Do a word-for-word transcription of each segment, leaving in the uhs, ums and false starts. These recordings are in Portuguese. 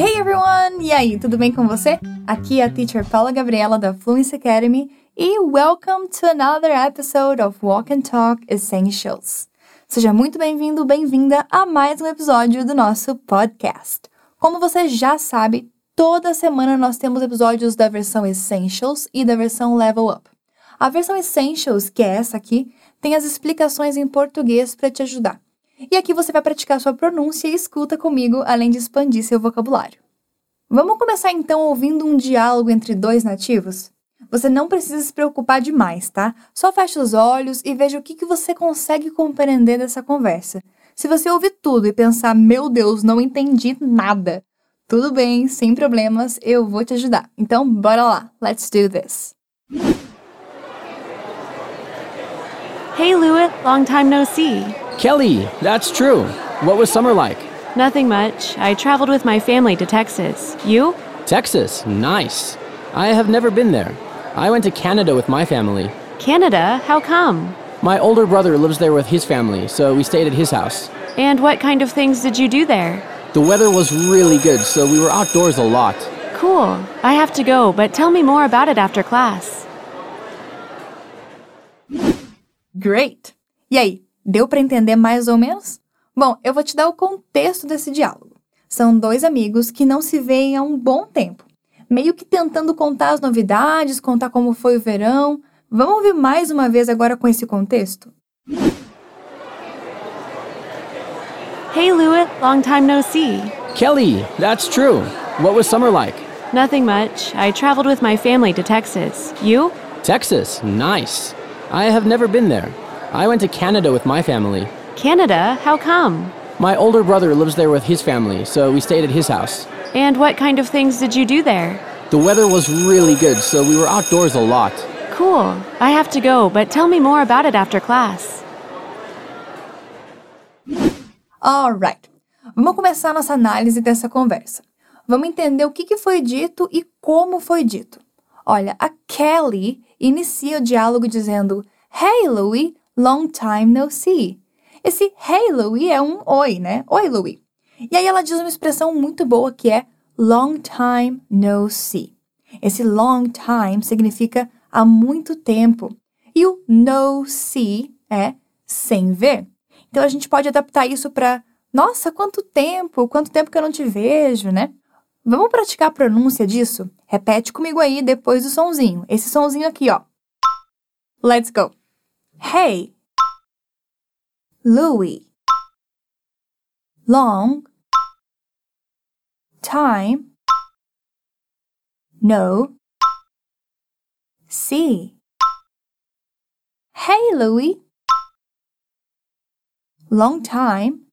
Hey everyone! E aí, tudo bem com você? Aqui é a Teacher Paula Gabriela da Fluency Academy e welcome to another episode of Walk and Talk Essentials. Seja muito bem-vindo, bem-vinda a mais um episódio do nosso podcast. Como você já sabe, toda semana nós temos episódios da versão Essentials e da versão Level Up. A versão Essentials, que é essa aqui, tem as explicações em português para te ajudar. E aqui você vai praticar sua pronúncia e escuta comigo, além de expandir seu vocabulário. Vamos começar então ouvindo um diálogo entre dois nativos? Você não precisa se preocupar demais, tá? Só feche os olhos e veja o que, que você consegue compreender dessa conversa. Se você ouvir tudo e pensar, meu Deus, não entendi nada, tudo bem, sem problemas, eu vou te ajudar. Então, bora lá, let's do this. Hey, Lewitt, long time no see. Kelly, that's true. What was summer like? Nothing much. I traveled with my family to Texas. You? Texas, nice. I have never been there. I went to Canada with my family. Canada? How come? My older brother lives there with his family, so we stayed at his house. And what kind of things did you do there? The weather was really good, so we were outdoors a lot. Cool. I have to go, but tell me more about it after class. Great! E aí, deu para entender mais ou menos? Bom, eu vou te dar o contexto desse diálogo. São dois amigos que não se veem há um bom tempo, meio que tentando contar as novidades, contar como foi o verão. Vamos ouvir mais uma vez agora com esse contexto? Hey, Lewitt, long time no see. Kelly, that's true. What was summer like? Nothing much. I traveled with my family to Texas. You? Texas, nice. I have never been there. I went to Canada with my family. Canada? How come? My older brother lives there with his family, so we stayed at his house. And what kind of things did you do there? The weather was really good, so we were outdoors a lot. Cool. I have to go, but tell me more about it after class. Alright, vamos começar nossa análise dessa conversa. Vamos entender o que, que foi dito e como foi dito. Olha, a Kelly inicia o diálogo dizendo Hey, Louie, long time no see. Esse Hey, Louie é um oi, né? Oi, Louie. E aí ela diz uma expressão muito boa que é long time no see. Esse long time significa há muito tempo. E o no see é sem ver. Então a gente pode adaptar isso para nossa, quanto tempo, quanto tempo que eu não te vejo, né? Vamos praticar a pronúncia disso? Repete comigo aí depois do sonzinho. Esse sonzinho aqui, ó. Let's go. Hey, Louie, long time no see. Hey, Louie, long time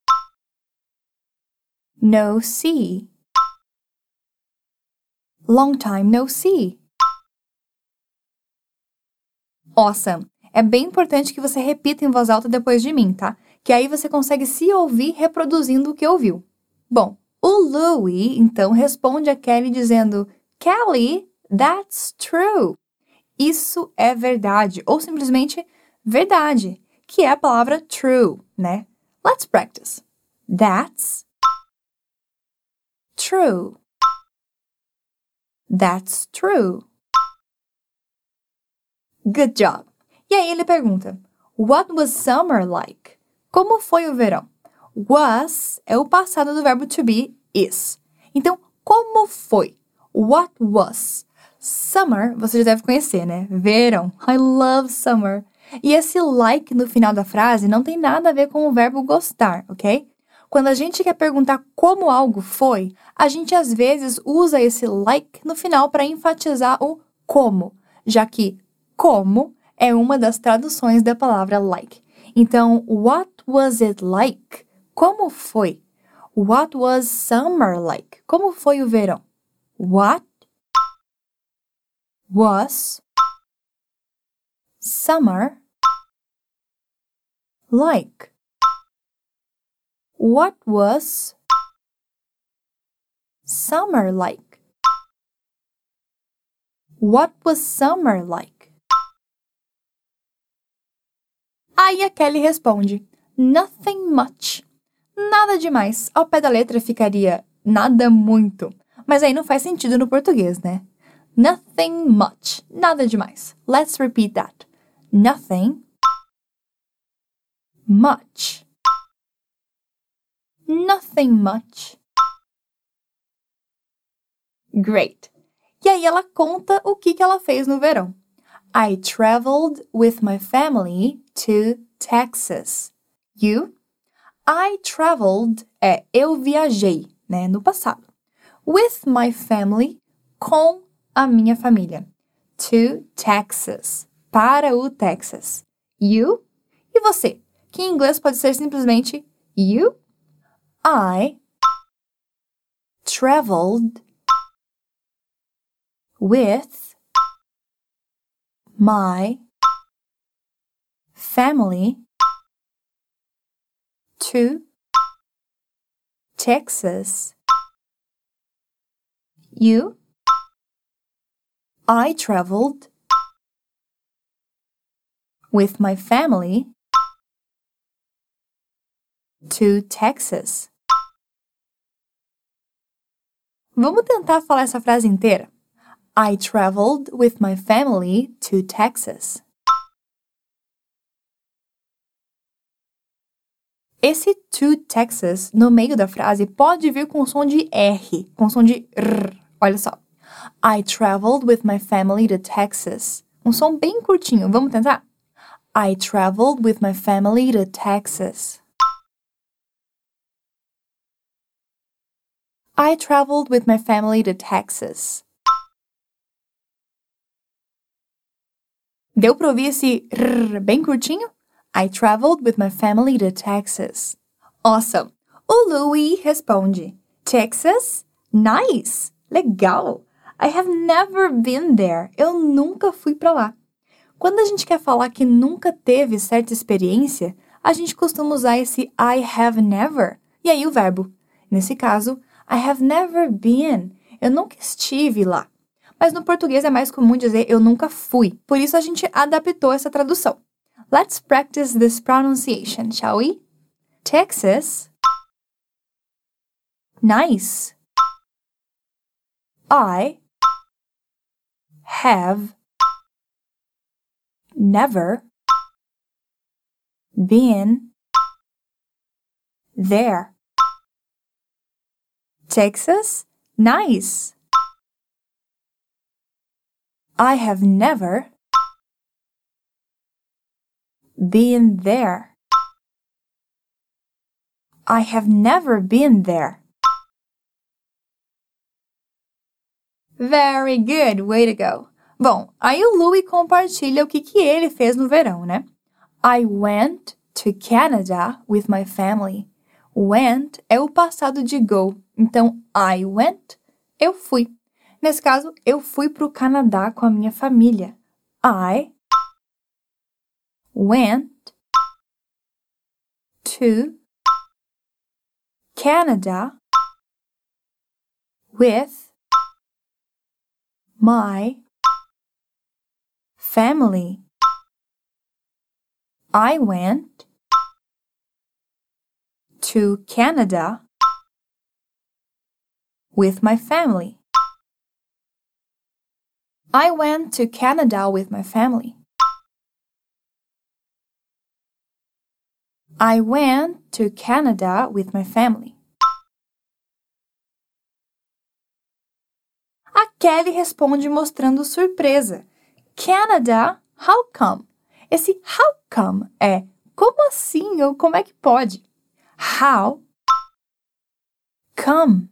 no see. Long time no see. Awesome! É bem importante que você repita em voz alta depois de mim, tá? Que aí você consegue se ouvir reproduzindo o que ouviu. Bom, o Louie, então, responde a Kelly dizendo Kelly, that's true. Isso é verdade, ou simplesmente verdade, que é a palavra true, né? Let's practice. That's true. That's true. Good job. E aí ele pergunta, What was summer like? Como foi o verão? Was é o passado do verbo to be is. Então, como foi? What was? Summer, você já deve conhecer, né? Verão. I love summer. E esse like no final da frase não tem nada a ver com o verbo gostar, ok? Quando a gente quer perguntar como algo foi, a gente às vezes usa esse like no final para enfatizar o como, já que como é uma das traduções da palavra like. Então, what was it like? Como foi? What was summer like? Como foi o verão? What was summer like? What was summer like? What was summer like? Aí a Kelly responde, nothing much. Nada demais. Ao pé da letra ficaria nada muito. Mas aí não faz sentido no português, né? Nothing much, nada demais. Let's repeat that. Nothing much. Nothing much. Great. E aí ela conta o que, que ela fez no verão. I traveled with my family to Texas. You? I traveled é eu viajei, né, no passado. With my family, com a minha família. To Texas, para o Texas. You? E você? Que em inglês pode ser simplesmente you? I traveled with my family to Texas. You? I traveled with my family to Texas. Vamos tentar falar essa frase inteira? I traveled with my family to Texas. Esse to Texas, no meio da frase, pode vir com som de R, com som de R. Olha só. I traveled with my family to Texas. Um som bem curtinho. Vamos tentar? I traveled with my family to Texas. I traveled with my family to Texas. Deu pra ouvir esse R bem curtinho? I traveled with my family to Texas. Awesome! O Louis responde, Texas? Nice! Legal! I have never been there. Eu nunca fui pra lá. Quando a gente quer falar que nunca teve certa experiência, a gente costuma usar esse I have never. E aí o verbo. Nesse caso, I have never been. Eu nunca estive lá. Mas no português é mais comum dizer eu nunca fui. Por isso a gente adaptou essa tradução. Let's practice this pronunciation, shall we? Texas. Nice. I have never been there. Texas? Nice. I have never been there. I have never been there. Very good, way to go. Bom, aí o Louis compartilha o que, que ele fez no verão, né? I went to Canada with my family. Went é o passado de go. Então, I went, eu fui. Nesse caso, eu fui para o Canadá com a minha família. I went to Canada with my family. I went to Canada with my family. I went to Canada with my family. I went to Canada with my family. A Kelly responde mostrando surpresa. Canada? How come? Esse how come é como assim ou como é que pode? How come?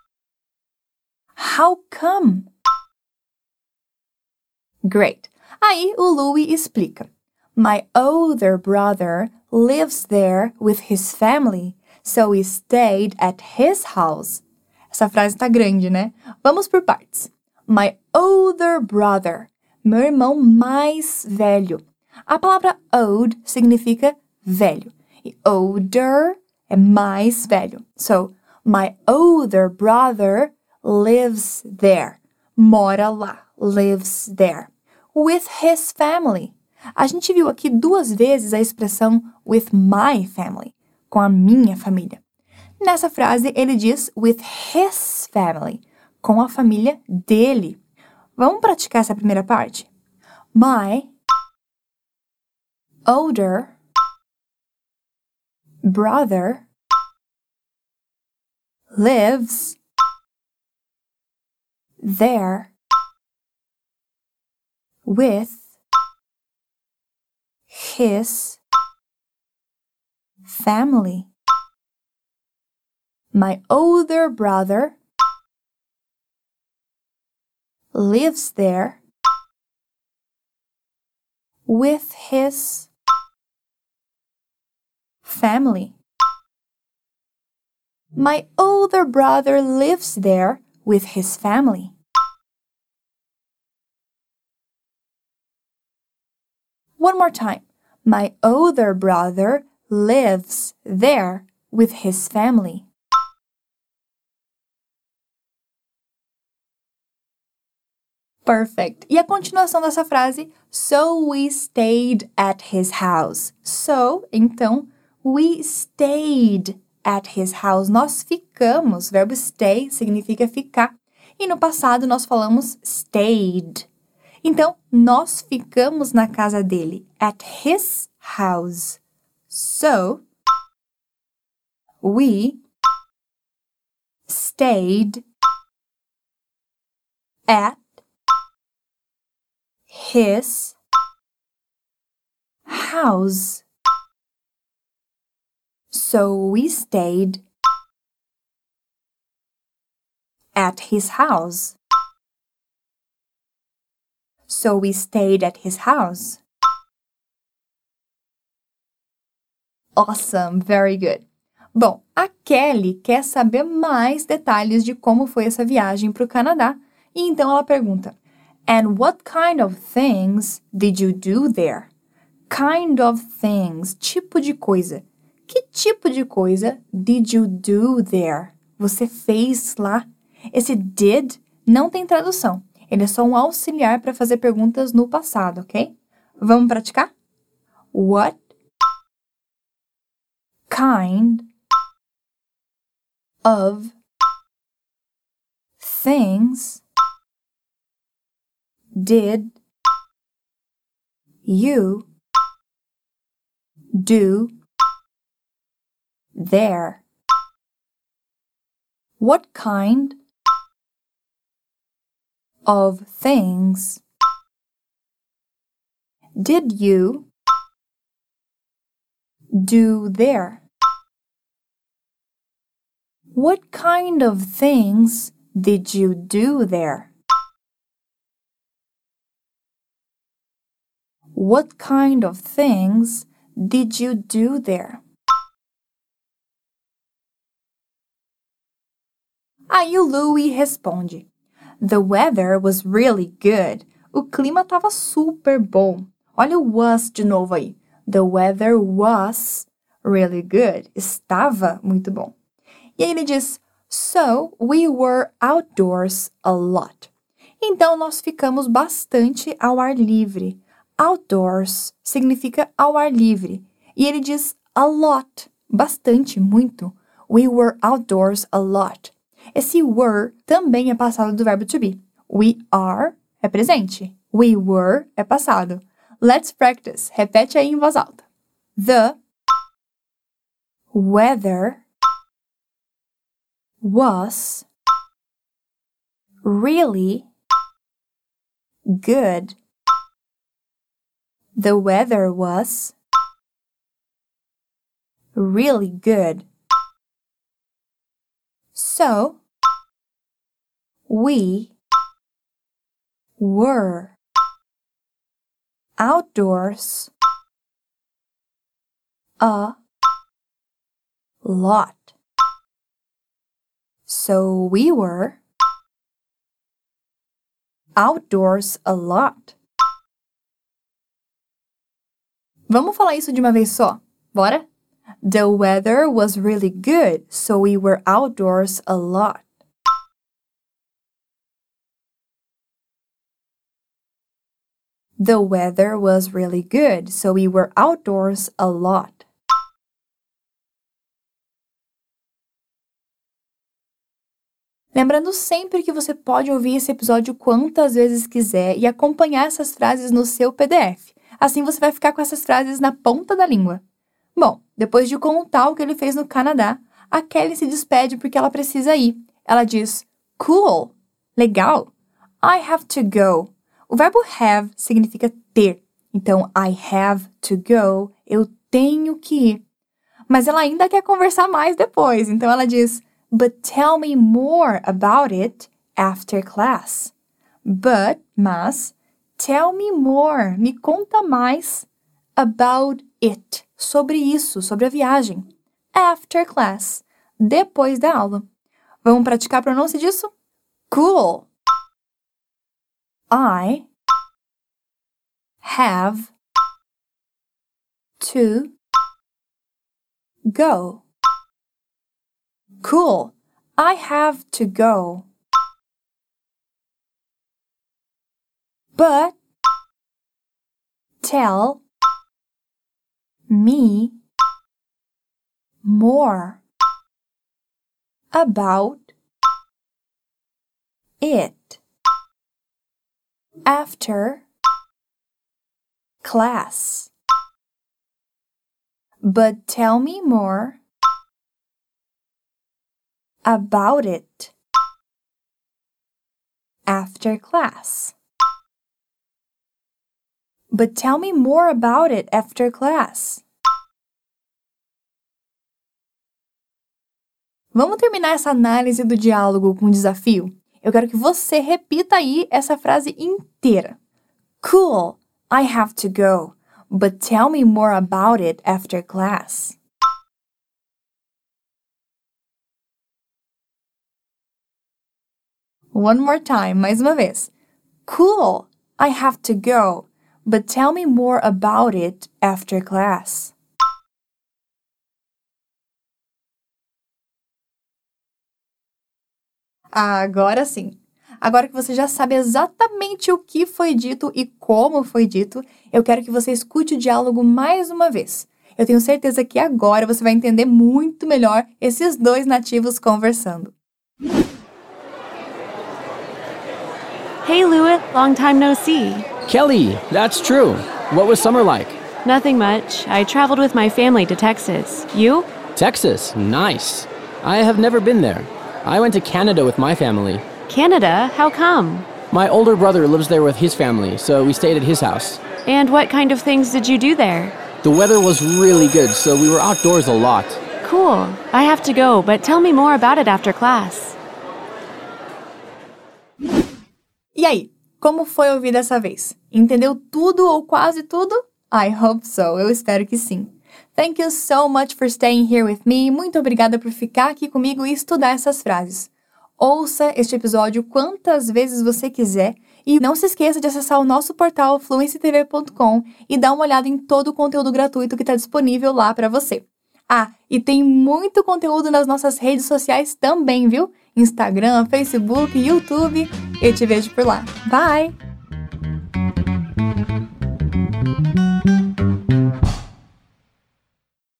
How come? Great. Aí o Louis explica. My older brother lives there with his family, so we stayed at his house. Essa frase tá grande, né? Vamos por partes. My older brother. Meu irmão mais velho. A palavra old significa velho. E older é mais velho. So, my older brother lives there. Mora lá. Lives there. With his family. A gente viu aqui duas vezes a expressão with my family. Com a minha família. Nessa frase, ele diz with his family, com a família dele. Vamos praticar essa primeira parte? My older brother lives there with his family. My older brother lives there with his family. My older brother lives there with his family. One more time. My older brother lives there with his family. Perfect. E a continuação dessa frase, so we stayed at his house. So, então, we stayed at his house. Nós ficamos. O verbo stay significa ficar. E no passado nós falamos stayed. Então, nós ficamos na casa dele. At his house. So, we stayed at his house. So we stayed at his house. So we stayed at his house. Awesome, very good. Bom, a Kelly quer saber mais detalhes de como foi essa viagem para o Canadá. E então ela pergunta, and what kind of things did you do there? Kind of things, tipo de coisa. Que tipo de coisa did you do there? Você fez lá? Esse did não tem tradução. Ele é só um auxiliar para fazer perguntas no passado, ok? Vamos praticar? What kind of things did you do there? What kind of things did you do there? What kind of things did you do there? What kind of things did you do there? Aí o Louie responde, the weather was really good. O clima estava super bom. Olha o was de novo aí. The weather was really good. Estava muito bom. E aí ele diz, so we were outdoors a lot. Então nós ficamos bastante ao ar livre. Outdoors significa ao ar livre. E ele diz a lot, bastante, muito. We were outdoors a lot. Esse were também é passado do verbo to be. We are é presente. We were é passado. Let's practice. Repete aí em voz alta. The weather was really good. The weather was really good. So, we were outdoors a lot. So we were outdoors a lot. Vamos falar isso de uma vez só? Bora? The weather was really good, so we were outdoors a lot. The weather was really good, so we were outdoors a lot. Lembrando sempre que você pode ouvir esse episódio quantas vezes quiser e acompanhar essas frases no seu P D F. Assim você vai ficar com essas frases na ponta da língua. Bom, depois de contar o que ele fez no Canadá, a Kelly se despede porque ela precisa ir. Ela diz, cool, legal, I have to go. O verbo have significa ter. Então, I have to go, eu tenho que ir. Mas ela ainda quer conversar mais depois. Então ela diz, but tell me more about it after class. But, mas, tell me more, me conta mais about it, sobre isso, sobre a viagem. After class, depois da aula. Vamos praticar a pronúncia disso? Cool. I have to go. Cool. I have to go. But tell me more about it after class. But tell me more about it after class. But tell me more about it after class. Vamos terminar essa análise do diálogo com um desafio? Eu quero que você repita aí essa frase inteira. Cool, I have to go, but tell me more about it after class. One more time, mais uma vez. Cool, I have to go, but tell me more about it after class. Agora sim. Agora que você já sabe exatamente o que foi dito e como foi dito, eu quero que você escute o diálogo mais uma vez. Eu tenho certeza que agora você vai entender muito melhor esses dois nativos conversando. Hey, Lewitt, long time no see. Kelly, that's true. What was summer like? Nothing much. I traveled with my family to Texas. You? Texas, nice. I have never been there. I went to Canada with my family. Canada? How come? My older brother lives there with his family, so we stayed at his house. And what kind of things did you do there? The weather was really good, so we were outdoors a lot. Cool. I have to go, but tell me more about it after class. E aí, como foi ouvir dessa vez? Entendeu tudo ou quase tudo? I hope so, eu espero que sim. Thank you so much for staying here with me. Muito obrigada por ficar aqui comigo e estudar essas frases. Ouça este episódio quantas vezes você quiser e não se esqueça de acessar o nosso portal fluency t v ponto com e dar uma olhada em todo o conteúdo gratuito que está disponível lá para você. Ah, e tem muito conteúdo nas nossas redes sociais também, viu? Instagram, Facebook, YouTube. Eu te vejo por lá. Bye!